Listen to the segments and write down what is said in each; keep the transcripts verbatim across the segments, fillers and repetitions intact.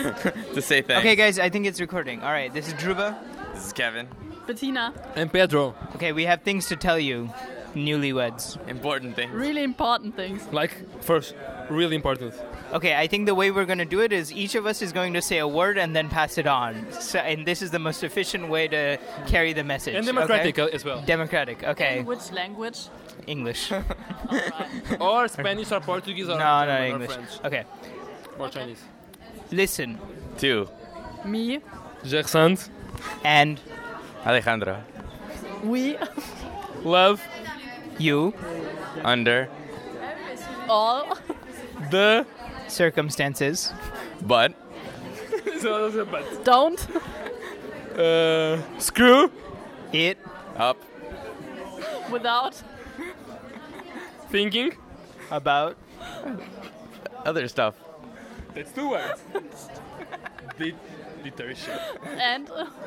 to say thanks. Okay, guys, I think it's recording. All right, this is Dhruva. This is Kevin. Bettina. And Pedro. Okay, we have things to tell you, newlyweds. Important things. Really important things. Like, first, really important. Okay, I think the way we're going to do it is each of us is going to say a word and then pass it on. So, and this is the most efficient way to carry the message. And democratic okay? as well. Democratic, okay. In which language? English. All right. Or Spanish or Portuguese or no, no, German English. or French. Okay. Or Chinese. Listen. Two. Me. Gersand. And Alejandro. We. Love. you. Under. All. The. Circumstances. But. So that's a but. Don't. Uh, screw. It. Up. Without. Thinking. About. Other stuff. That's two words. Det- Detertion. And.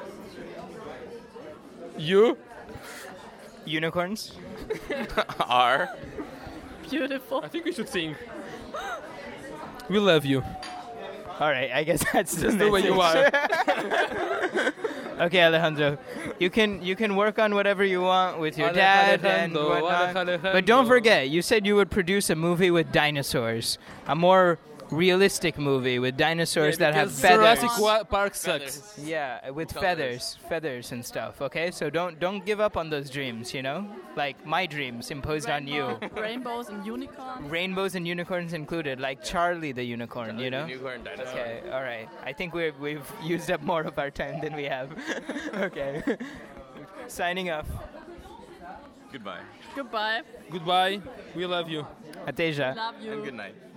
You. Unicorns. Are. Beautiful. I think we should sing. We love you. All right, I guess that's Just the way you are. Okay, Alejandro, you can you can work on whatever you want with your Ale- dad and Alejandro, whatnot. Alejandro. But don't forget, you said you would produce a movie with dinosaurs, a more realistic movie with dinosaurs that have Because feathers. Jurassic Wa- Park sucks. Yeah, with Colors. feathers, feathers and stuff. Okay, so don't don't give up on those dreams. You know, like my dreams imposed on you. Rainbows and unicorns. Rainbows and unicorns included, like Charlie the unicorn. You know. Unicorn dinosaur. Okay, all right. I think we've we've used up more of our time than we have. Okay. Signing off. Goodbye. Goodbye. Goodbye. We love you. Ateja. Love you. And good night.